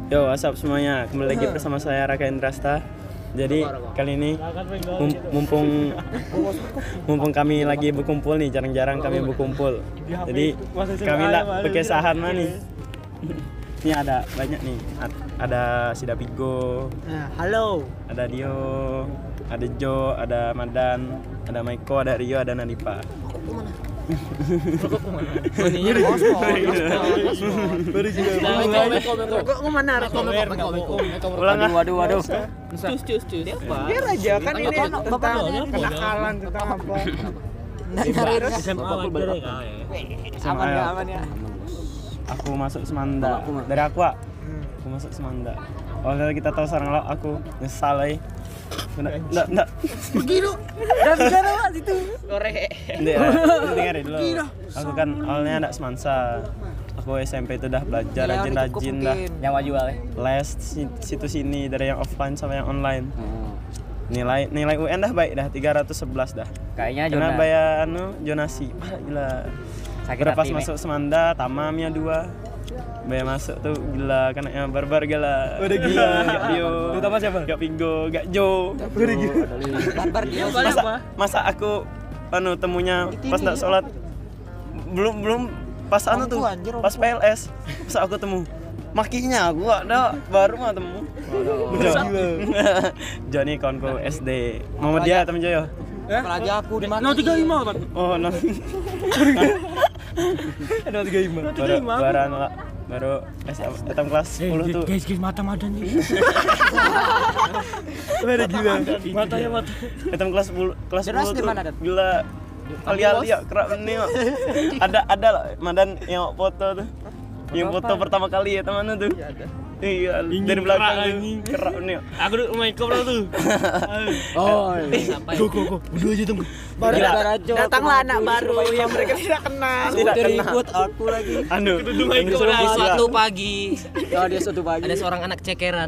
Yo, what's up semuanya? Kembali lagi bersama saya Raka Indrasta. Jadi kali ini mumpung kami lagi berkumpul nih, jarang-jarang kami berkumpul. Jadi kami lah berkesahan mah nih. Ini ada banyak nih. Ada Sidapigo. Halo. Ada Dio, ada Jo, ada Madan, ada Maiko, ada Rio, ada Nadipa. Rokok kemana? Ulang ah. Waduh. Cus. Biar aja kan ini tentang kenakalan tentang apa. Aman ya. Aku masuk Semanda. Dari aku, aku masuk Semanda. Kalau kita tahu sekarang lo aku nyesal Enggak. Pergi lu. Udah bicara Mas itu. Korek. Dengar dulu. Aku kan awalnya anak Semansa. Aku SMP itu udah belajar rajin-rajin dah. Yang jual ya. Les situ sini dari yang offline sama yang online. Nilai UN dah baik dah 311 dah. Kayaknya Kena bayar jonasi. Gila. Berapa pas masuk Semanda, tamamnya 2. Bayar masuk tuh gila, kanaknya barbar gila. Udah gila. Gak Dio. Terutama siapa? Gak Pingo, gak Jo. Udah gila. Barbar dia. Masa aku temunya pas nak sholat belum pas tuh pas PLS masa aku temu makinya aku ada baru mah temu Jo nih kawanku SD Muhammad dia temen Jo ya Apalagi aku di mana? 035 kan. oh no 035 baru SM kelas 10 tuh Guys, mata nih. udah gila Matanya. SM kelas 10 tuh gila kali-kali ya kerap nih ada lah Madan yang foto tuh yang foto pertama kali ya temannya tuh iya dari belakang kerap nih Aku main koplo tuh. Go. Udah aja tunggu. Datanglah anak baru yang mereka tidak kenal. Ikut aku lagi. Suatu pagi. Dia suatu pagi. Ada seorang anak cekeran.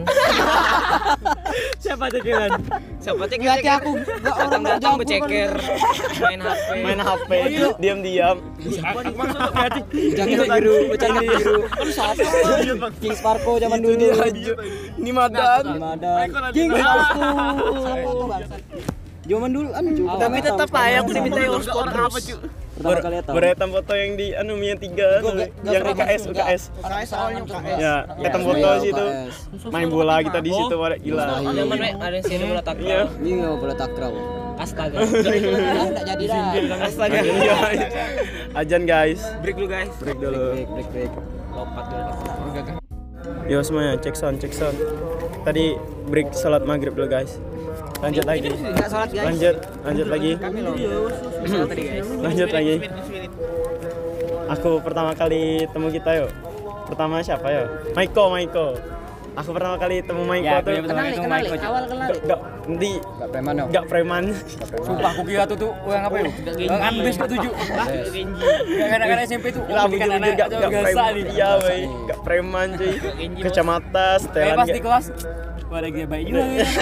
Siapa cekeran? Siapa Berarti aku enggak orang datang berceker, main HP, diam-diam. Jaket biru, bercanda biru. Siapa? King Sparko zaman dulu. Ini Madan. King Sparko. Zaman dulu Tapi tetap aja aku diminta hotspot apa cu? Pertama kali tahu. Beretam foto yang di Mia 3 yang UKS. UKS awalnya UKS. Ya, etam foto situ. Main bola kita di situ gila. Zaman ada yang sini bola takraw. Iya, bola takraw. Astaga. Enggak jadi dah. Astaga. Ajan guys. Break dulu guys. Break dulu. Break. Lompat dulu. Yo semuanya cek sound. Tadi break salat maghrib dulu guys. Lanjut lagi. Enggak salat guys. Lanjut lagi. Lanjut lagi. Aku pertama kali temu kita yo. Pertama siapa yo? Maiko. Aku pertama kali temu Maiko tuh. Kenali. Awal kenali. Enggak preman yo. Enggak preman. Sumpah aku kira tuh yang apa yo? Ambis ke 7. Kadang-kadang SMP tuh. Bikin anak enggak preman. Iya, wey. Enggak preman cuy. Kacamata, setelan. Pas di kelas. Wah, lagi baik juga.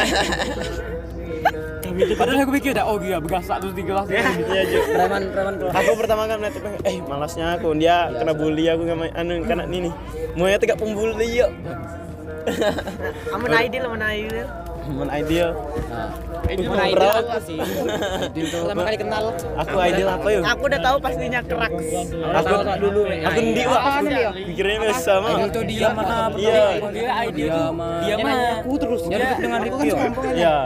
Padahal aku pikir dah, gila begasak terus di kelas. Iya, Jo. Preman kelas. Aku pertama kan ngeliat malasnya aku dia kena bully aku sama kena ini nih. Maunya tegak pembuli yuk. Aman ideal. Teman ideal. Ideal sih. Pertama kali kenal. Aku ideal apa yuk? Aku udah tahu pastinya kerak. Aku ndi Wak. Pikirnya sama. Itu dia mana? Iya. Dia ideal. Dia mah aku terus. Dia dengan Ricky. Iya.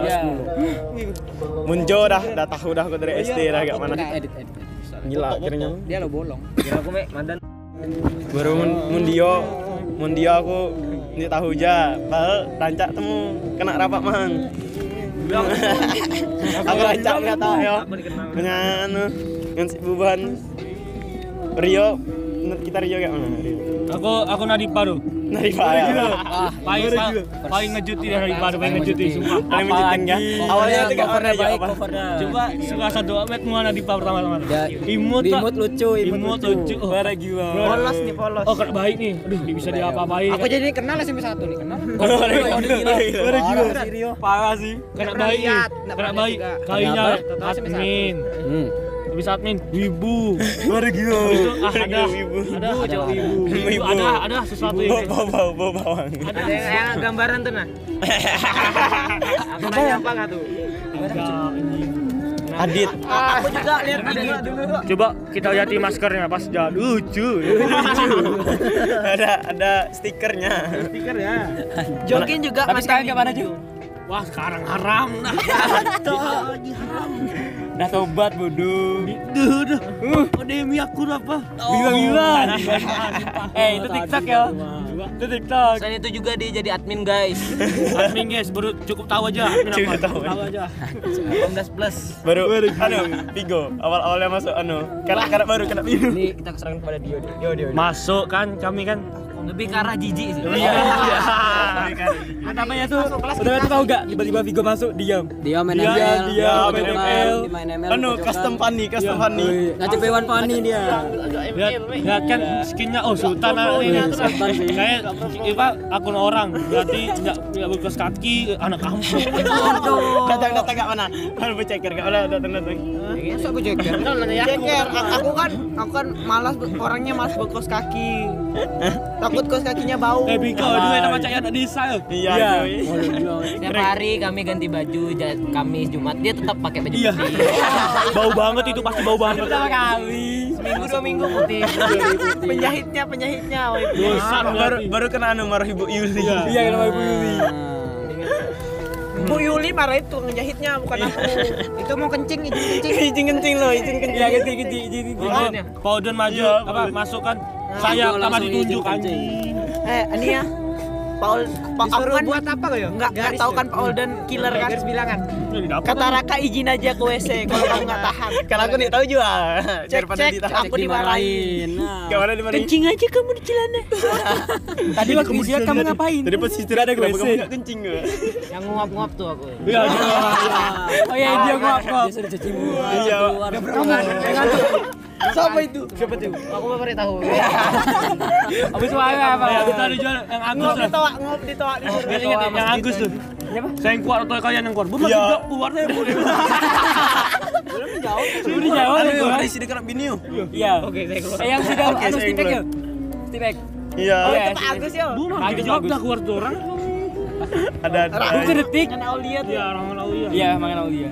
Munjo dah tahu dah aku dari SD dah gak mana. Edit. Gila akhirnya. Dia lo bolong. Kira aku Madan. Baru Mundio aku ini tahu aja, padahal rancak temu kena rapat mang. Aku rancak nggak tahu ya. Dengan si Buban Rio, kita Rio kayak mana Rio? Aku Nadipa tuh. Nadipa ya. Paling ngejuti dari Nadipa, paling ngejuti sumpah. Paling menjutin kan? Awalnya tuh gak pernah baik, apa. Coba suka satu met mua Nadipa pertama-tama. Imut lucu. Bara gila. Polos. Oh, baik nih. Aduh, bisa diapa-apain. Aku jadi kenal SMP 1 nih, kenal. Bara gila. Parah sih. Kena baik. Kalinya admin. Habis Bisa admin wibu. Baru gitu. Ada ibu. Ada sesuatu ini. Bawa bawang. Ada yang gambaran tuh nah. Apa nggak tuh? Adit. Aku juga lihat dulu. Coba kita lihat di maskernya pas jalan. Lucu. Ada stikernya. Stiker ya. Jogging juga Tapi sekarang masker gimana, minggu. Ju? Wah, sekarang haram. Udah tobat bodoh. Udah. Demi aku apa? Bilang. Itu TikTok ya. Itu TikTok. Selain itu juga dia jadi admin guys. Admin guys, baru cukup tahu aja. Admin Cukup apa? tahu aja. 18+. Baru Vigo awal-awalnya masuk karena baru kena Vigo. Ini kita keserang kepada Dio. Masuk kan kami kan. Lebih ke arah jijik sih. Iya. Namanya tuh, udah tahu gak? Tiba-tiba Vigo masuk diam main ML. Dia main ML. Main ML. Custom funny. Ngacip hewan funny dia. Lihat kan skinnya Sultan ini. Sultan sih. Kayak akun orang. Berarti enggak berkaos kaki, anak kampung. Datang gak mana? Baru ceker gak ada datang. Masa aku ceker? Ceker, aku kan malas orangnya malas berkos kaki. Takut kos kakinya bau. Biko, duit sama cahaya anak desa. Iya. Setiap hari kami ganti baju, Kamis, Jumat dia tetap pakai baju Iya. putih. Bau banget itu, pasti bau banget. Pertama kali. Seminggu 2 minggu putih. Penjahitnya. Dosa Baru kena Marah Ibu Yuli. Iya, nama Ibu Yuli. Bu Yuli marah itu ngejahitnya bukan aku. Itu mau kencing. Izin kencing. Iya, kencing. Pak Odon maju, masuk kan. Saya sama ditunjuk anjing. Ini ya. Paul Disuruh kan buat apa kok ya? Enggak tahu kan Paul dan killer kan. Garis bilangan. Kata Raka izin aja ke WC kalau kamu enggak tahan. Karena aku nih tahu juga. Daripada Cek, ditahan. aku dimarahin. Gimana dimarahin? Kencing aja kamu di celana. Tadi waktu istirahat kamu ngapain? Tadi pas istirahat ada WC. kamu enggak kencing gak? Yang nguap-nguap tuh aku. Iya. Oh iya dia nguap. Dia sudah cuci muka. Iya. Siapa itu? Aku baru tahu. Habis suara apa? Kita ada jual yang Agus tuh. Nguap ditoak Ingat yang Agus tuh. Saya yang kuat atau kalian yang kuat? Bukan Iya. tidak kuat saya. Sudah dijawab. Ada isi dekat bini yuk. Iya. Oke, saya keluar. Yang sudah Oke, anu saya Stipek keluar. ya? Stipek. Iya. Pak Agus ya? Agus udah keluar tuh orang. Ada. Aku kedetik. Aulia tuh. Iya, orang Aulia. Iya, makan Aulia.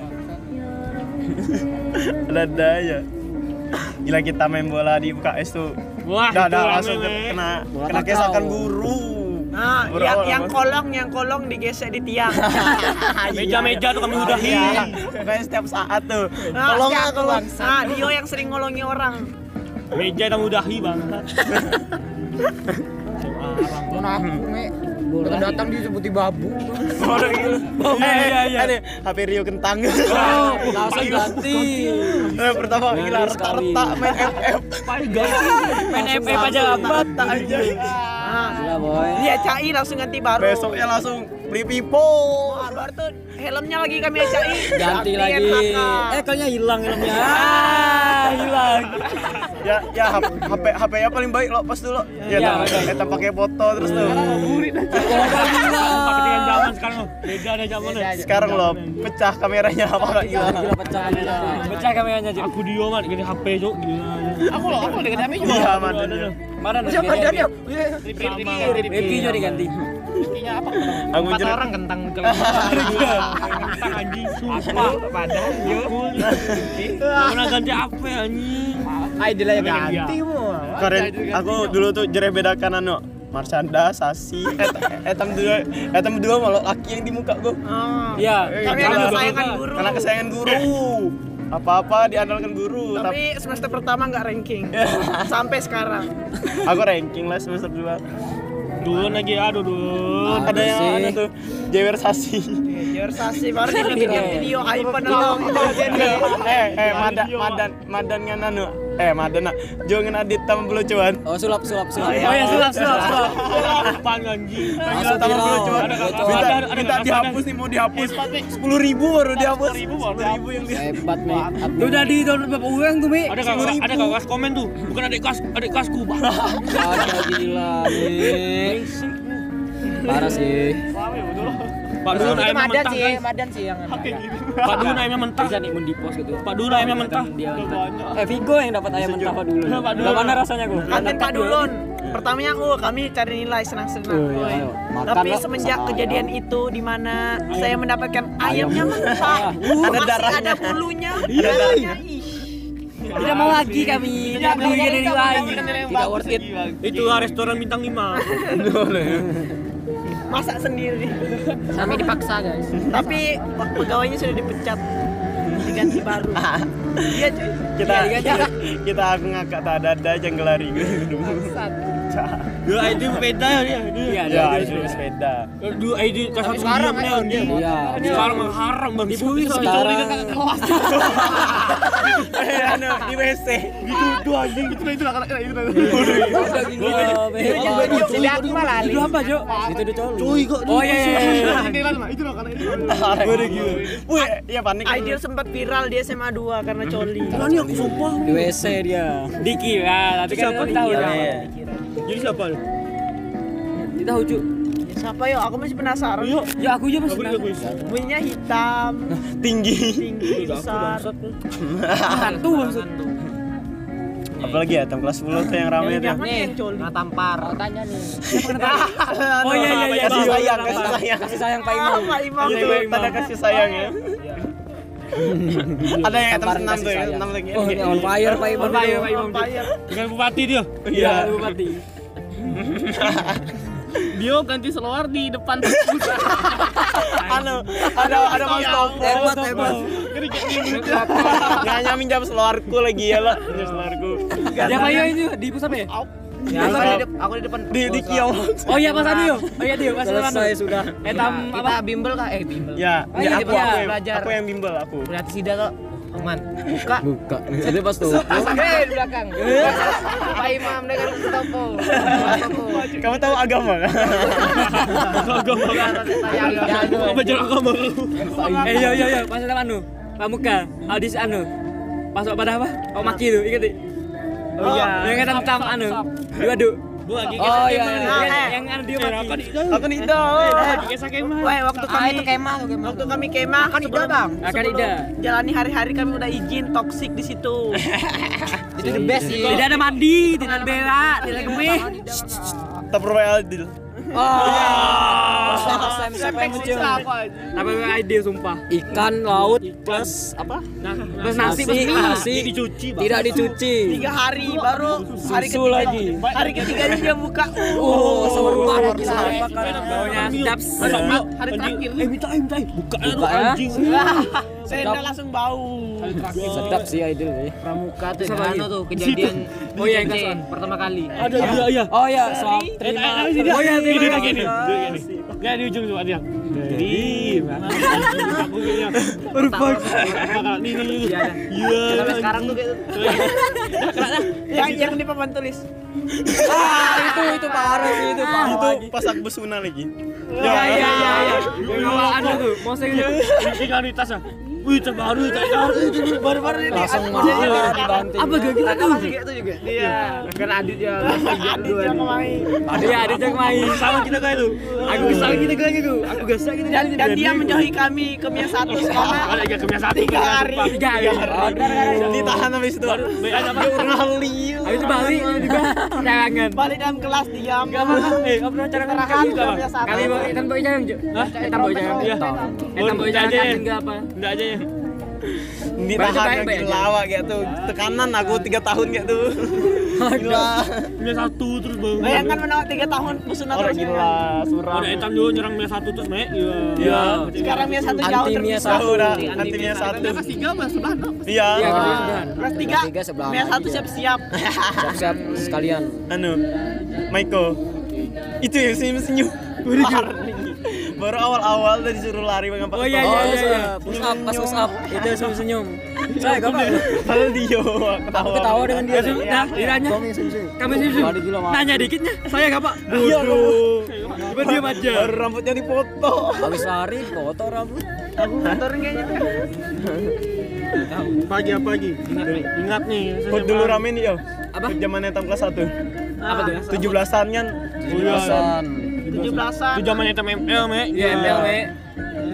Ada ya. Gila kita main bola di UKS tuh. Wah, Dah itu langsung rame, kena Bola kesakan kakao. guru. Nah, Bro, yang kolong digesek di tiang. Meja-meja tuh kami udahin. Iya. Kayak setiap saat tuh. Nah, Tolong si aku aku. bang. Nah, Dio yang sering ngolongi orang. Meja kita udahi bang. Datang disebuti babu. Bodoh gitu. Iya. Ada HP Rio kentang. Langsung ganti. Pertama gila retak main FF. Main FF aja lambat aja. Gila boy. Dia CAI langsung ganti baru. Besoknya langsung beli pipo. Baru tuh helmnya lagi kami CAI. Ganti lagi. Kayaknya hilang helmnya. Hilang. Ya HP-nya paling baik lo pas dulu. Ya kita pakai foto terus tuh. Pakai zaman sekarang loh. Beda ada zamannya. Sekarang lo pecah kameranya apa enggak hilang. Gila pecah kameranya. Pecah kameranya aja. Aku Dio man, gini HP cok. Aku dengan Ami juga. Iya mantan. Mana Siapa dia? Rifki juga diganti. Apa? Aku 4 jerit. orang kentang kalau Kentang anjing sumpah. padahal yo. Mana ganti HP anjing. Dia lah ganti mu. Keren, aku dulu tuh jereh bedakan anu Marshanda, Sasi, etam dua malah laki yang di muka gua. Iya. Kami Karena ada kesayangan guru. Karena kesayangan guru. Apa-apa diandalkan guru. Tapi semester pertama nggak ranking. Sampai sekarang. Aku ranking lah semester 2. Dulu lagi aduh dulu. Ada yang ada tuh Jewer Sasi. Jersasi baru di video iPhone atau Madan ngan anu. Madan nak. Jangan adit tam belucuan. Oh sulap. Oh ya sulap. Pan anjing. Masuk Tam viral. belucuan. Belucuan. Minta dihapus nih, mau dihapus. 10.000 baru dihapus. 10.000 yang dia. Hebat nih. Udah di download berapa orang tuh, Mi? Ada kakak komen tuh. Bukan adik kelasku. Ada gila nih. Parah sih. Pak Dun Itu ayamnya Madan mentah sih, guys. Madan sih yang Pak Dun ayamnya mentah. Bisa nih di post gitu. Pak Dun ayamnya mentah. Dia Vigo yang dapat ayam mentah Pak dulu. Pak Dulun. Gimana rasanya gua? Kantin Pak Dulun. Pertamanya kami cari nilai senang-senang. Oh, iya. Makan Tapi lah. semenjak kejadian itu di mana saya mendapatkan ayamnya mentah, Ada masih darahnya. ada bulunya, Iya. darahnya. Ih. Tidak mau lagi kami. Tidak beli dari lagi. Tidak worth it. Itu restoran bintang 5. Masak sendiri. kami dipaksa guys. Tapi pegawainya sudah dipecat, diganti baru. Iya cuy. Kita aku ngakak tak ada aja ngelari gitu. Dua ID sepeda ya dia. Iya, Ya, ada itu sepeda. Dua ID kelas 1 sekarang diam dia. Iya. Sekarang mah haram bang. Dibully sekarang. Anu di WC. Itu anjing itu anak itu. Jadi aku malah Itu apa, Jo? Itu udah coli. Cuy kok. Oh iya iya. Itu anak itu. Gue gila. Wih, iya panik. Ideal sempat viral di SMA 2 karena coli. Ini aku sumpah. Di WC dia. Diki ya, tapi kan Siapa tahu Iya, ya. iya. Jadi siapa? Kita Ju. Siapa yo? Aku masih penasaran. Yuk. Ya aku aja masih. Bunyinya hitam, Tinggi. tinggi, besar. Hantu maksud. Apalagi ya, tam kelas 10 tuh yang ramai tuh. Jangan yang coli. Nah, tampar. Tanya nih. Oh iya iya iya. Kasih sayang, kasih sayang. Kasih sayang Pak Imam. Pak Imam. Itu tanda kasih sayang ya. Ada yang Tampar hitam 6 kasih tuh ya, sayang. 6 lagi. Oh, ini on fire Pak Imam. On fire, Pak Imam. Vampire. Dengan bupati dia. Iya. Bupati. Dia ganti seluar di depan. Anu, ada Mas Topo. Hebat. Nggak minjam seluarku lagi ya lah, minjam seluarku. Siapa yo ini di pusat ya? Aku di depan. Di kios. Oh iya Mas Anu. Oh iya dia Mas Anu. Selesai sudah. Etam Kita bimbel kah? Bimbel. Ya, Oh, iya, aku, iya, belajar. aku yang bimbel aku. Berarti sida kok. Aman. Buka. Buka. Jadi pas tuh. Di belakang. Pak Imam dengan Topo. Kamu tahu agama kan? Belajar agama. Iya. Pas ada anu. Pramuka, audisi anu. Masuk pada apa? Oh maki itu, ingat di? Oh iya. Yang tentang anu. Diwaduk. Bu lagi Oh iya. Nah, Yang anu dia maki. Aku nih itu. kisah kemah. Wah, waktu kami Itu kemah tuh kemah. waktu kami kemah sebelum Akan ida. jalani hari-hari kami udah izin toksik di situ. Itu the best sih. Tidak ada mandi, tidak ada berak, tidak ada gemih. Tupperware Adil. Siapa yang kecil? Tapi ide sumpah. Ikan laut plus apa? Plus nasi, Dicuci, Bang. tidak dicuci. 3 hari baru hari Susu lagi. Hari ketiganya dia buka. Seru banget gila. baunya sedap. Hari terakhir. Minta. Buka Buka ya. anjing. Sendal langsung bau. Sedap sih Aidil. Pramuka tuh yang anu tuh kejadian. Oh iya, yang di kesan. pertama kali. Ada iya. Oh iya, soal terima. Oh iya, terima kasih. Nggak di ujung coba dia. Aku kayaknya. Nih. Iya. Sampai sekarang tuh kayak Yang di papan tulis. Itu parah sih itu parah. Itu pas aku besuna lagi. Iya. Yang ada tuh, moseng itu. Tinggal di tas ya. Wih, terbaru Baru-baru ini Langsung aku jadi marah dibanting. Apa gak kita tuh? itu juga. Iya. kan Adit ya. Adit yang main. Iya, ada yang main. sama kita kayak itu. Aku kesal kita kayak gitu. Aku gasak gitu. Dan dia menjauhi kami ke Mia 1 karena Ada yang kemia satu. 3 hari. 3 hari. Ditahan habis itu. Baik aja Pak. Habis itu balik juga. Carangan. Balik dalam kelas diam. Enggak pernah. Enggak pernah carangan Kerahan kayak ke gitu. Mia 1. Kali kan boy jangan, Jo. Hah? Boy jangan. Iya. Boy jangan enggak apa. Enggak aja ya. Ditahan Baik, gitu lawak gitu. Tekanan aku 3 tahun gitu. Gila. Mia satu terus bang. Bayangkan menawar 3 tahun musnah Orang terus. gila, suram. Ada etam juga nyerang Mia satu terus Mek. Iya. Sekarang Mia 1 jauh Anti Mia terpisah. satu. Udah, nanti Mia 1. Iya. Iya, kemudian. Kelas Tiga 3 sebelah. Mia 1 siap-siap. Siap-siap sekalian. Anu, Maiko. Itu yang senyum-senyum. Baru awal-awal udah disuruh lari dengan Oh iya. Push up, pas push up. Itu senyum-senyum. Saya gampang. Padahal dia Aku ketawa dengan dia. Nah, ditanya. Kami senyum. Nanya dikitnya. Saya enggak, Pak. Bodoh. Coba diam aja. Baru rambutnya dipoto. Habis lari foto rambut. Aku motorin kayaknya. Pagi apa lagi? Ingat nih. Kok dulu rame nih yo. Apa? Zamannya tam kelas 1. Apa tuh? 17-an kan. 17-an. 17-an. Itu zamannya etam ML Mek. Iya, ML, Mek.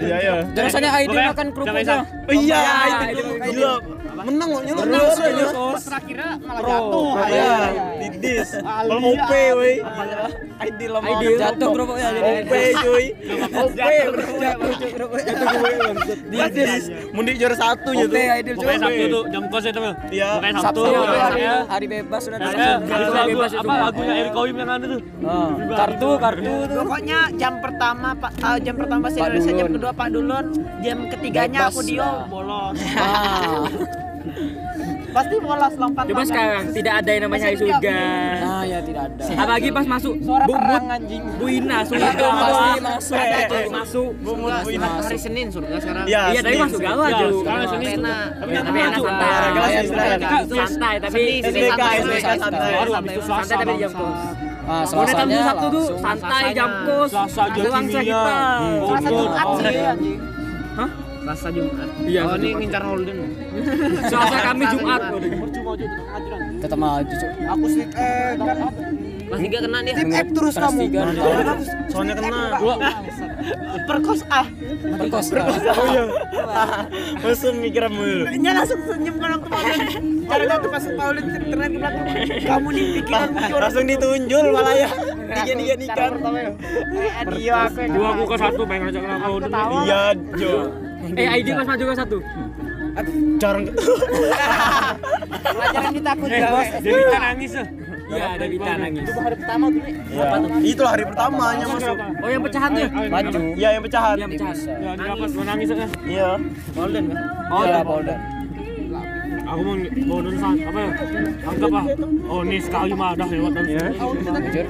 Iya ya. Rasanya Aidil Pokoknya makan sampai kerupuknya. Iya, Aidil. gila. Menang kok nyolong Terus Terakhirnya malah jatuh. Iya, didis. Kalau OP woi. Aidil lama Aidil jatuh kerupuknya jadi. OP cuy. OP Jatuh kerupuknya. didis. Mundi juara 1 nya tuh. Oke, Aidil Pokoknya coba. Sabtu tuh jam kos itu. Iya. Pokoknya Sabtu Sabtu. hari bebas sudah ada. Ada Hari lagu bebas itu. apa lagunya Erick Koim yang ada tuh. Kartu tuh. Pokoknya jam pertama jam pertama bahasa Indonesia, jam kedua Pak Dulun, jam ketiganya Bebas. aku Dio bolos. Ah. Pasti bolos lompat. Coba sekarang tidak ada yang namanya hari surga. Nah, ya tidak ada. Apalagi pas masuk Bumut Bu Ina surga Pasti masuk. masuk. Hari Senin surga sekarang. Iya, Iya tapi masuk galau aja. Sekarang Senin tuh. Tapi enak santai. Tapi SBK santai. Baru habis itu Selasa. santai tapi jam bangsa. kos. Ah, Mulai Sabtu Selasanya Sabtu tuh langsung. santai jam kos. Selasa jam Bangsa kimia. kita. Selasa Jumat sih anjing. Hah? Selasa Jumat. Iya. Oh ini ngincar Holden. Selasa kami Jumat. Tetap maju, Cuk. Aku sih Kelas 3 kena dia. terus Kelas kamu. 3. Soalnya kena. Perkos ah. Perkos. Oh iya. Langsung mikir mulu. Nya langsung senyum kan waktu Paulin. Caranya tuh pas Paulin ternyata ke belakang. Kamu nih pikiran Langsung ditunjul malah ya. Tiga ikan. Adio aku yang Dua aku ke satu pengen ngajak kau dulu. Iya, Jo. ID pas maju ke 1. Jarang. pelajaran kita aku Bos, Devita nangis ya. Iya, ada Vita nangis. Iya. Itulah hari pertamanya masuk. Oh, yang pecahan tuh. Maju. Iya, yang pecahan. Yang pecahan. Ya, di lapas gua nangis ya. Iya. Golden kan? Oh, ya Polda. Aku mau nulis apa ya? Anggap ah. Oh, ini sekali mah dah lewat nanti. Jujur.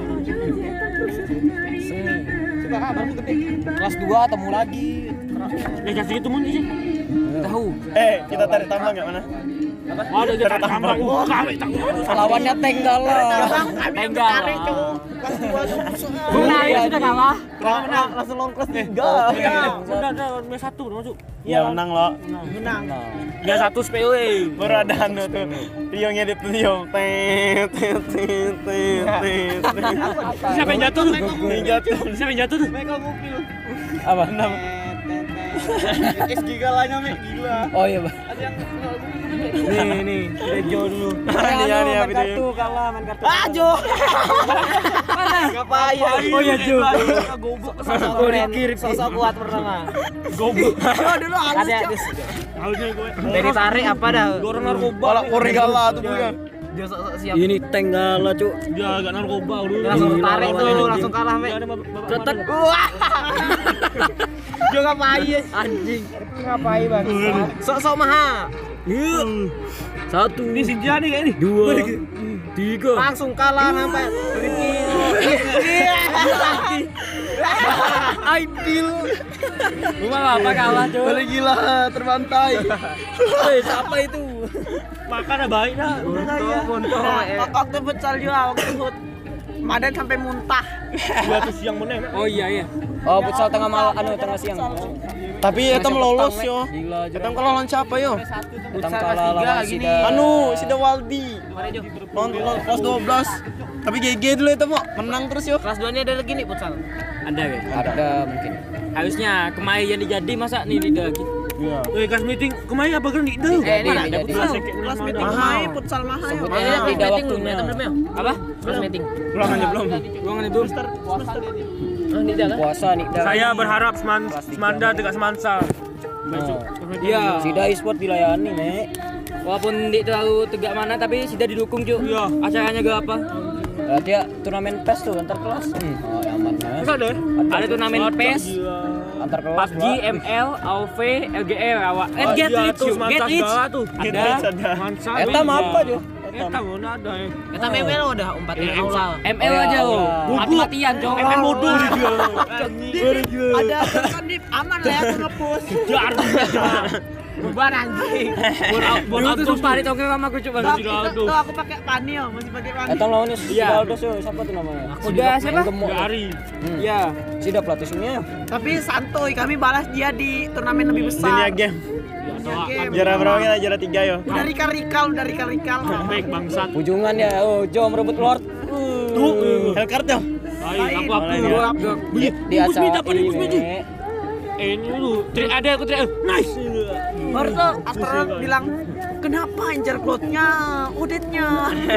Kelas 2 temu lagi. Kasih itu mun sih. Tahu. Kita tarik tambang enggak mana? Ada jadi tambang. Kami Lawannya Tenggala. Tenggal. Benar, ya sudah kalah. Langsung long kelas 3. Udah mes 1 udah masuk. Iya, menang lo. Menang. Ya 1 SPW. Baru ada anu tuh. Tio ngedit Tio. Tet tet tet tet. Siapa yang jatuh tuh? Yang jatuh. Siapa yang jatuh tuh? Apa nama? SG galanya me gila. Oh iya, Bang. Nih, kita Jo dulu. Iya, Nih, main video. kartu kalah, main kartu. Ah Jo. Ngapain? Oh iya, Jo. Sosok kiri sosok kuat pertama. Goblok. Jo dulu halus Ada Jo. Harusnya gue. Dari tarik apa dah? Orang narkoba. Bola Korigala tuh bukan. Dia sok siap. Ini Tenggala, Cuk. Dia agak narkoba dulu. Langsung Gila, tarik tuh, lawannya langsung kalah me. Cetek. Wah. Jo ngapain? Anjing. Ngapain bang? Sok-sok maha. Satu. Ini si Jani kayak ini. 2 3. Langsung kalah sampai Aidil. Rumah apa kalah, Cuk? Boleh gila terbantai. Siapa itu? Makan ya baik dah. waktu futsal juga waktu Madan sampai muntah. Gua tuh siang meneng. Oh iya. Oh, futsal tengah siang. Tapi eta lolos petang, yo. Gila, Eta kalah lawan siapa yo? Petang kalah lawan Sida. Sida Waldi. Lawan kelas 12. Tapi GG dulu itu mau menang terus yo. Kelas 2 ini ada lagi nih futsal. Ada ya? Ada mungkin. Harusnya kemarin yang dijadi masa nih tidak lagi. Iya. Kelas meeting kemarin apa kan itu? Jadi, Mana ada jadi. futsal? Kelas meeting mahal, futsal mahal. Sebutnya tidak waktunya. Apa? Kelas meeting. Belum aja belum. Ruangan itu. Puasa nih. Saya berharap Semanda tidak semansa. Besok. Iya. Sida e-sport dilayani, Nek. Walaupun di terlalu tegak mana tapi sudah didukung, Cuk. Iya. Acaranya gak apa? Berarti ya turnamen PES tuh antar kelas. Oh, aman ya. Enggak deh. Ada turnamen PES, Antar kelas. PUBG, ML, AOV, LGR, awak. Get Iya, Rich, tuh, Cuk. Semansa Get Rich. segala tuh. Ada. Mansa. Eta mah apa, Jo? Eta mana ada ya. Kita ML udah 4 Iya, aula. ML aja Oh, lo. ya. Mati-matian, Cuk. ML modul dia. Ada kan di aman lah ya aku nge-push. Jar. Bubar anjing. Dulu tuh sumpah ditongkrong sama aku, Cuk. Bang. Tuh aku pakai Panio, masih pakai Panio. Eta lawan Iya. Sida Aldos yo, siapa tuh namanya? Udah siapa? Gemuk. Dari. Iya. Sida pelatih sini ya. Tapi santuy, kami balas dia di turnamen lebih Dunia besar. game. Game. Juara berapa kita? Juara 3 yo. Udah rikal. Baik bangsat. Ujungan ya. Oh, Jo merebut Lord. Hellcard yo. Baik, aku Boleh, aku. ya. Di acara ini. ini lu. Ada aku teriak. Nice. Baru tuh astronot bilang, kenapa incer klotnya, Odetnya.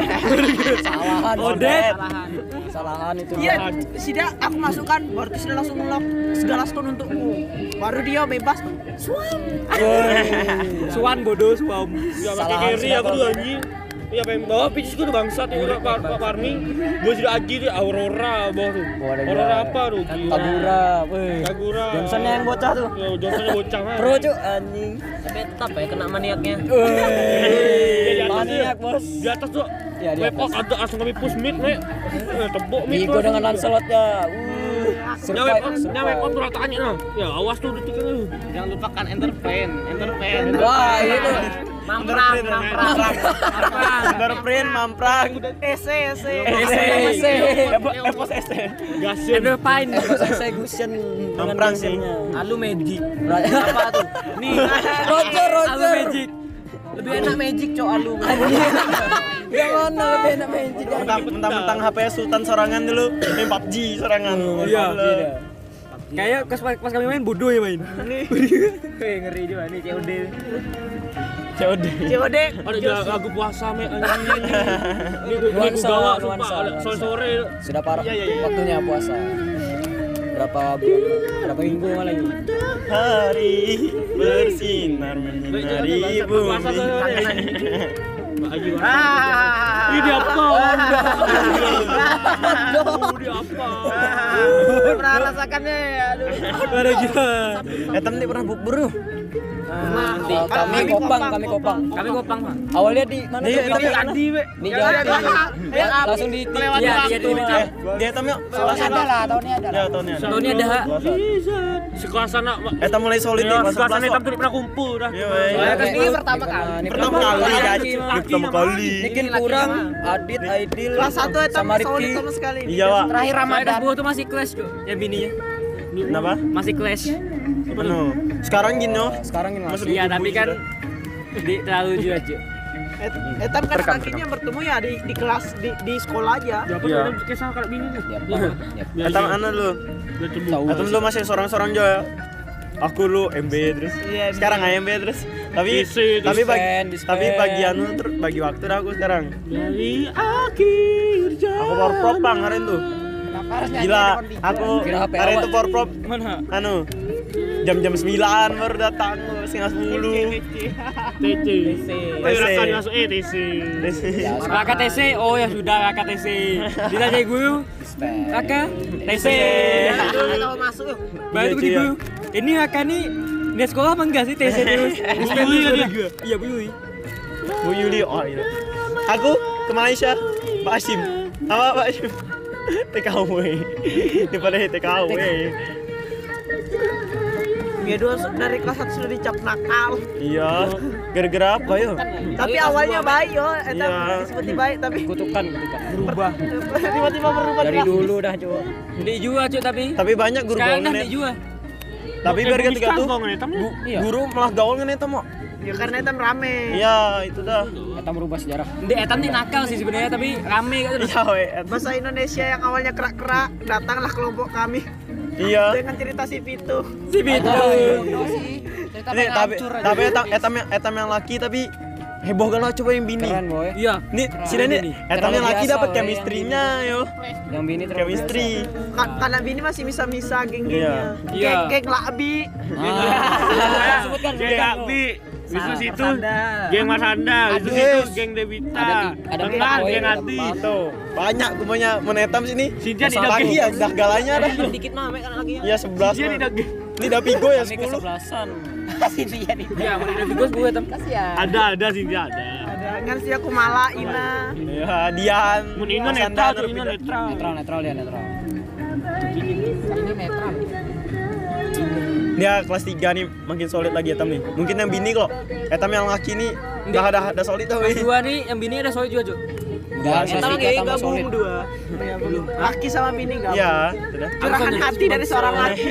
Odet. Kesalahan itu. Iya, sudah aku masukkan, baru tuh sudah langsung ngelok segala skon untukku. Baru dia bebas. Suam. Suan bodoh, suam. Enggak pakai carry aku tuh anjing. Iya pengen bawa pitch itu bangsat ya Pak Farming. Gua sudah aji tuh Aurora bawah tuh. Aurora apa tuh? Kagura, weh. Kagura. Johnsonnya yang bocah tuh. Ya, Johnsonnya bocah mah. Pro cuk anjing. Betap ya kena maniaknya. Maniak bos. Di atas tuh. Ya, di Wepok ada langsung kami push mid, Mek. Tebok mid. Igo dengan lancelotnya. Nyampe tuh rataannya nah. Ya awas tuh detik itu. Jangan lupakan entertain. Wah, itu. Mamprang. Underprint, mamprang. Ese. Epos ese. Gasin. Underpine execution dengan Mamprang sih. gasernya. Alu magic. Apa tuh? Nih, Roger. Alu magic. Lebih enak magic cok alu. Yang mana lebih enak magic? Mentang-mentang HP Sultan sorangan dulu, main PUBG sorangan. Iya. Kayak pas kami main bodoh ya main. Ngeri juga nih COD. COD. Ada lagu puasa, Mek. Anjing. Ini gue bawa sumpah sore-sore. Sudah parah waktunya puasa. Berapa minggu malah ini? Hari bersinar menyinari bumi. Ini apa? Ini apa? Pernah rasakannya ya, aduh. Ada gila. Etam nih pernah bukber tuh. Nanti kami kopang. Kami kopang, Pak. Awalnya di mana? Di Adi, Be. Di Jawa. Langsung di Dia etam yuk. Ada lah, tahunnya ada. Ya tahunnya. Tahunnya ada. Sekelas anak. Etam mulai solid nih kelas Sekelas 11 anak kok. tuh pernah kumpul dah. Iya, Ini pertama kali. Pertama kali pertama kali. Nikin kurang, Adit, Aidil, Kelas 1 itu sama solid Rifki. sama sekali. Iya, Pak. Terakhir Ramadan. Ramadan. Kelas 2 tuh masih clash, Cuk. Yang bininya. Kenapa? Masih clash. Anu. Sekarang gini loh. Sekarang ini Masuk masih. Iya, ibu tapi kan sudah. terlalu juga, Cuk. Etam kan kakinya bertemu ya di kelas di sekolah aja. Ya apa Iya. tuh kisah kalau bini tuh? Etam anu lu. Etam lu masih sorang-sorang jo ya. Aku lu MB terus. Iya, Sekarang AMB terus. Tapi Dispen, tapi bagi anu bagi waktu dah aku sekarang. Dari akhir jalan. Aku power prop bang kemarin tuh. Gila, aku Kira HP kemarin awal. tuh power prop Mana? anu jam-jam 9 baru datang, setengah 10. TC. Tapi rasa masuk TC. Raka TC, oh ya sudah Raka TC. Ditanya guru, Raka TC. Kalau masuk yuk. Baru di guru. Ini Raka nih di sekolah apa enggak sih TC terus? Yuli kan dia? Iya Bu Yuli. Bu Yuli, oh iya. Aku ke Malaysia, Pak Hashim. Apa Pak Hashim? TKW. Daripada TKW. Dia dua dari kelas 1 sudah dicap nakal. Iya. Gara-gara apa ya? Tapi awalnya baik yo, Etam Iya. seperti baik tapi Kutukan berubah. tiba-tiba berubah Dari kelas. dulu dah, Cuk. Ndi juga, Cuk, tapi Tapi banyak guru sekarang gaul dah ngenet. ndi juga. Tapi biar ketika tuh Iya. guru malah gaul ngenet mau. Ya karena Etam rame. Iya, itu dah. Etam merubah sejarah. Ndi Etam nih nakal sih sebenarnya tapi rame kan. Iya, we. Bahasa Indonesia yang awalnya kerak-kerak, datanglah kelompok kami Iya. dengan cerita si Pitu. Si Bito. Ini etam yang laki tapi heboh kan lah coba yang bini. Keren, Boy. Iya. Nih, sini nih. Etam yang laki biasa, dapat we, chemistry-nya yo. Yang bini terlalu Chemistry. Karena bini masih misa-misa geng-gengnya. Iya. Geng labi. biasa. Sebutkan Geng Abi. Bisa situ geng Mas Anda, itu geng Devita. Ada Tengah poin, geng ada Ati. Tuh, banyak kumanya menetam sini. Sinja tidak Pagi ya, dah galanya dah. Dikit mah kan lagi ya. Iya 11. Sinja tidak geng. Ini dah pigo ya Kami 10. kesebelasan. Iya, mau dari Bigos gue Etam. Ada Sinja ada. Ada kan si aku malah Ina. Iya, Dian. Mun Ino Mas netral Anda, tuh, Ino netral. Netral dia netral. Dia kelas 3 nih makin solid lagi Etam nih. Mungkin yang bini kok. Etam yang laki nih udah solid tuh. Kelas 2 nih yang bini ada solid juga, Cuk. Enggak, Etam lagi gabung dua. Ya belum. Laki sama bini gabung. Iya, sudah. Curahan hati dari seorang laki.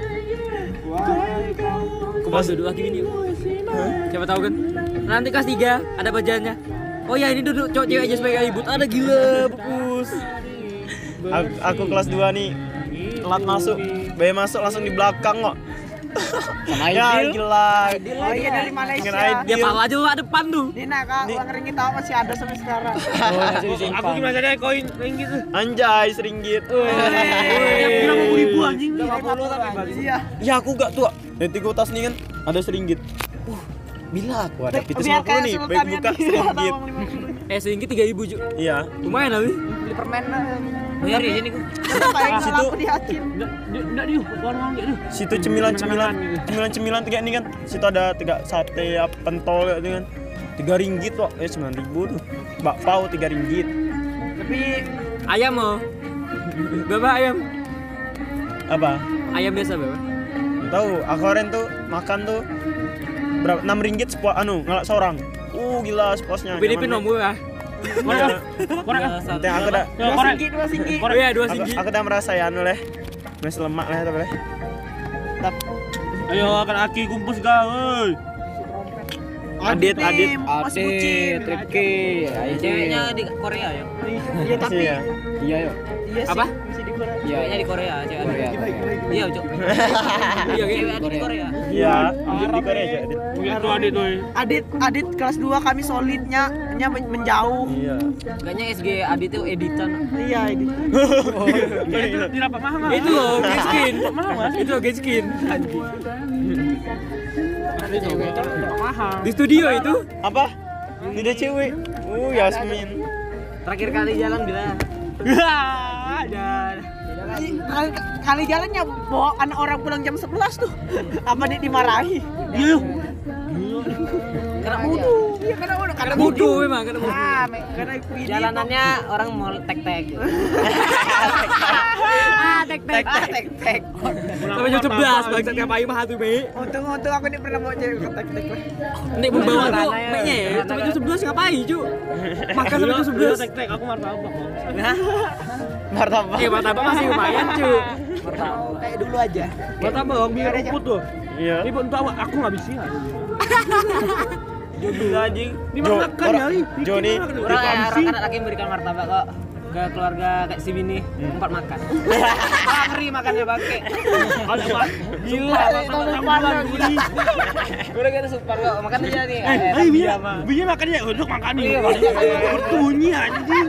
Kelas 2 laki bini. Siapa tahu kan? Nanti kelas 3 ada bajannya. Oh ya ini duduk cowok cewek aja sebagai ribut. Ada gila, bupus. Aku kelas 2 nih telat masuk. Bayi masuk langsung di belakang kok. Sama Ya Aidil. gila. Oh iya dari Malaysia. Dengan Aidil. Dia pala juga depan tuh. Dina kak, uang ringgit tahu masih ada sampai sekarang. Aku gimana caranya koin ringgit tuh? Anjay, seringgit. Yang 50.000 anjing. 50 tapi bagus. Iya. Ya aku gak tua. Nanti gue tas nih kan ada seringgit. Bila aku ada pitus Biar 50 kayak nih, Sultan baik yang buka dia seringgit. tahu uang 50. Seringgit 3.000 Ju. Iya. Lumayan tapi. Beli permen lah. Bayar di sini gua. Kayak Situ- kalau aku di Hakim. Enggak dia, warung enggak dia. Situ cemilan tiga nih kan. Situ ada 3 sate apa, pentol gitu kan. 3 ringgit kok. 9.000 tuh. Bakpao 3 ringgit. Tapi Ayam mau. Berapa ayam? Apa? Ayam biasa berapa? Nggak tahu, aku kemarin tuh makan tuh berapa? 6 ringgit ngalak seorang. Gila sepuasnya. Filipin nomor ya. Nanti aku udah dua singgit. Oh iya 2 aku singgit. udah merasa ya anu leh. Masih lemak lah tapi leh. Ayo akan aki kumpul segala. Adit. Mas bucin. Tripki. Ceweknya di Korea ya. Iya tapi Iya. Iya yuk. iya sih Apa? masih di Korea. Ceweknya di Korea, cewek. Korea. Iya, Cok. Iya Cewek ada di Korea. Iya, di Korea aja Adit. Mungkin tuh adik tuh. Adit kelas 2 kami solidnya menjauh. Iya. Kayaknya SG Adi tuh editan. Iya, Adit. Itu dirapat mahal. Itu loh, Genskin. Itu loh, Genskin. Mahal. Di studio itu. Apa? Tidak cewek. Yasmin. Terakhir kali jalan bila Kali jalannya bawa anak orang pulang jam 11 tuh. Apa nih dimarahi? Iya. Karena wudu. Iya karena wudu. Karena bodoh memang, karena bodoh. Karena ini jalanannya orang mau tek-tek. tek-tek. Tek-tek. Sampai jam 11, bangsat ngapain mah tuh, Be. Untung aku ini pernah bawa cewek ke tek-tek lah. Nek membawa tuh, Nek-nya ya, sampai jam 11 ngapain, Cu? Makan sampai jam 11. Tek-tek aku martabak. Martabak. Martabak masih lumayan, Cu. Kayak dulu aja. Martabak bang biar rumput tuh. Iya. Ini untuk aku nggak bisa. Jodoh anjing. Dimakan ya. Joni. Orang laki memberikan martabak kok ke keluarga kayak si Bini 4 makan. Ngeri makannya bangke. Gila, martabak gini. Udah kita super kok, makan aja nih. Biar makan ya untuk makan nih. Iya, Bertunyi anjing.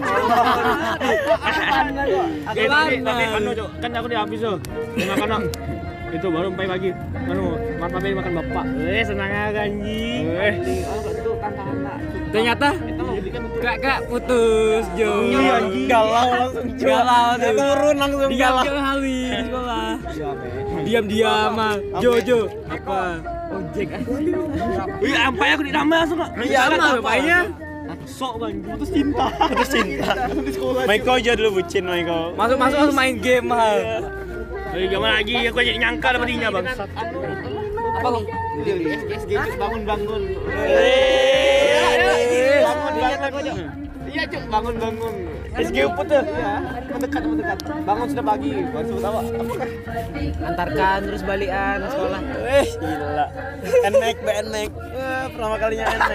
Aku Tapi mana? anu Cok, kan aku dihabis tuh. Makan itu baru sampai pagi. Martabak makan bapak. Senang aja anjing. Ternyata kakak putus, Jo. Iya, galau langsung. Galau tuh. Turun langsung Diam galau. ke Hawi di sekolah. Diam-diam mah. Jo. Apa? Ojek. Wih, sampai aku ditambah langsung kok. Iya, Sama rupanya. Sok bang, putus cinta. Putus cinta. Maiko aja dulu bucin Maiko. Masuk langsung main game mah. Gimana lagi? Aku aja nyangka dapat dinya bang. Apa kok? Bangun. Bangun. Iya cuk, bangun. SG uput tuh. Mendekat. Bangun sudah pagi. Baru sebut apa? Antarkan terus balikan sekolah. Gila. Enek. Pertama kalinya enek.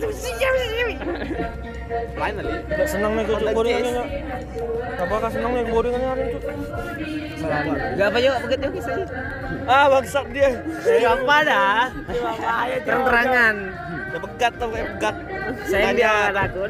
Lain kali. Gak senang nih gue boringannya. Apakah senang nih boringannya hari itu? Gak apa yuk, begitu kisahnya. Bangsat dia. Apa dah? Terang-terangan. Udah pegat tuh kayak pegat. Saya dia takut.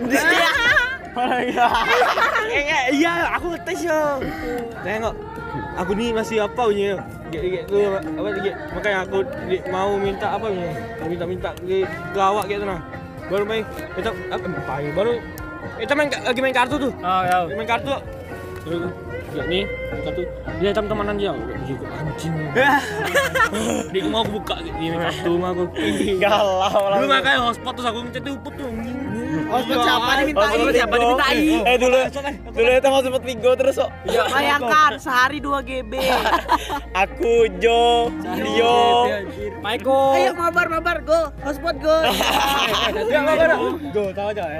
Iya, aku ngetes yo. Tengok. Aku nih masih apa punya? Apa lagi? Makanya aku mau minta apa punya? Minta ke awak gitu nah. Baru main kita baru kita lagi main kartu tuh. Oh, ya. Main kartu. Ya nih, kartu. Dia teman-temanan dia. Juga anjing. Dia mau aku buka gitu kartu mah aku. Galau Dulu langsung. makanya hotspot terus aku ngechat uput tuh. Hotspot siapa dimintain? Siapa dimintai? Dulu itu mau sempet Vigo terus kok. Bayangkan sehari 2 GB. Aku Jo, Dio. Maiko. Ayo mabar go. Hotspot go. Go, tahu aja ya.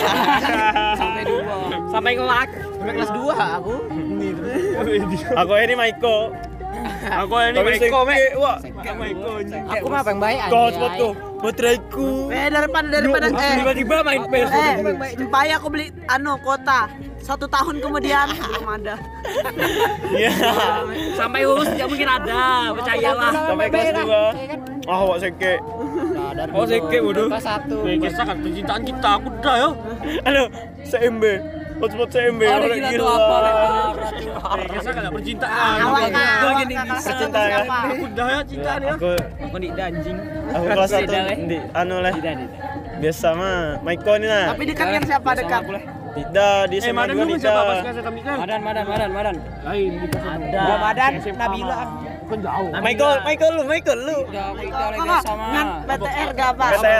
Sampai ngelak. Sampai kelas 2 aku. Aku ini Maiko. Aku ini Maiko, wah. Maiko. Aku mah yang baik Go hotspot go. Bateraiku. Daripada Tiba-tiba main PS. Empaya aku beli kota 1 tahun kemudian belum ada. Iya. Sampai lulus tidak mungkin ada, percayalah. Sampai kelas 2. Ah, wak seke. Oh, seke bodoh. Kelas 1. Kisah kan percintaan kita, aku udah ya. Halo, CMB. Hotspot CMB. Ada orang gila gila. tuh apa, berarti. Kisah kan percintaan. Awak gini, Percintaan kan? Aku udah ya cintaan ya. Aku di anjing. aku kelas 1 Tidak, Le. di anu lah. Biasa mah. Maiko nih nah. Tapi dekat yang siapa dekat? Tidak di SMA Madan juga dulu siapa pas tidak. kelas kami kan? Madan. Lain di kelas Ada. Madan, Nabila. kan jauh. Michael lu. Kita lagi biasa mah. Ngan BTR gak apa? BTR.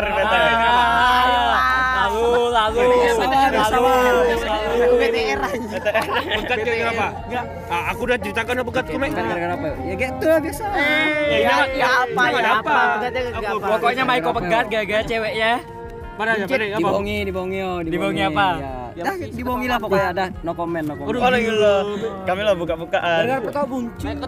Lalu. Aku BTR aja. Bekat kayak apa? Aku udah ceritakan bekatku Mek. Gara-gara apa? Ya gitu lah biasa. Ya apa? Pokoknya Maiko pegat gara-gara ceweknya. Mana ya? Dibohongi apa? Dah dibohongi lah Pokoknya pokoknya. ada no comment. Oh gila. Kami lah buka-bukaan. Kau buncit.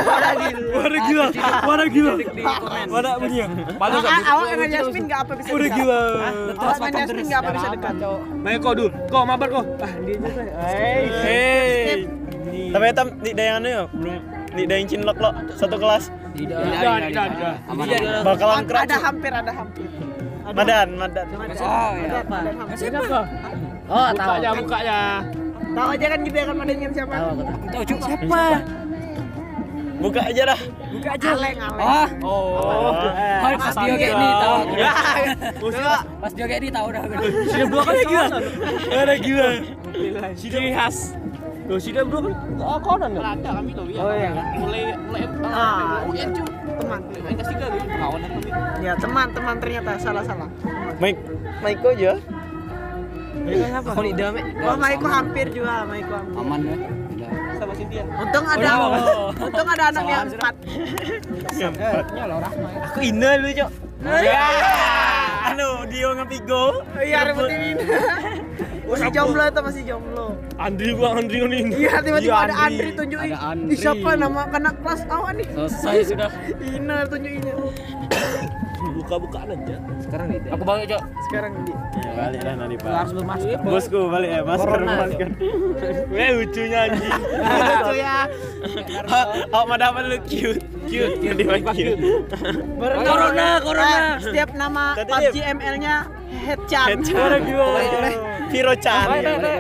Mana gila. Mana bunyi? Awak dengan Yasmin gak apa bisa dekat. Gila. Awak dengan Yasmin gak apa bisa dekat. Baik kau dulu. Kau mabar kau. Dia aja. Hey. Tapi etam di dayangan ya belum di dayang cinlok lo satu kelas. Tidak. Bakalan keras. Ada hampir. Madan. Oh ya. Siapa? Oh tahu. Bukanya. Tahu aja kan juga kan madanya siapa? Tahu cuk siapa? Buka aja dah. Aleng. Oh. Pas dia kayak ini tahu. Pas dia kayak ini tahu dah. Sudah 2 kali gila. Ada gila. Ciri khas. Loh, sudah 2 kali. Kau kan enggak? Ada kami tuh ya. Oh iya. Mulai Teman. main kasih kali. Kawan kami. Ya teman ternyata salah. Maiko aja. Aku di dalam. Oh Maiko hampir juga Maiko. Aman ya. Sama Cynthia. Untung ada anak yang 4. Aku ina lu, Cok. Anu, Dio ngepigo. Iya rebutin ini. Masih jomblo. Andri ini. Iya tiba-tiba ada Andri tunjukin. Ada Andri. Ih, siapa nama kena kelas awak nih? Selesai sudah. Ina tunjukinnya. Buka-bukaan aja. Sekarang nih. Aku balik, Cok. Sekarang di. Ya, balik dah nanti, Pak. Harus bermasker. Bosku balik ya, masker. Lucunya anjing. Lucu ya. Awak mah dapat lu cute. Di cute. Corona. Setiap nama Tadi PUBG ML-nya Headchan. Viro-chan.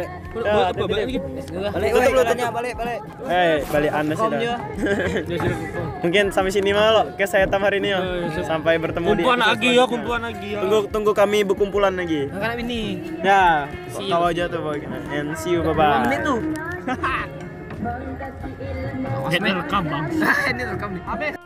Tutup lututnya, balik. Balik Anda sih dah. Mungkin sampai sini mah lo, ke saya tam hari ini ya. Sampai bertemu di kumpulan lagi ya. Tunggu kami berkumpulan lagi. Karena ini. Ya, kau aja tuh and see you, bye-bye. Menit tuh. Ini rekam bang. Ini rekam nih.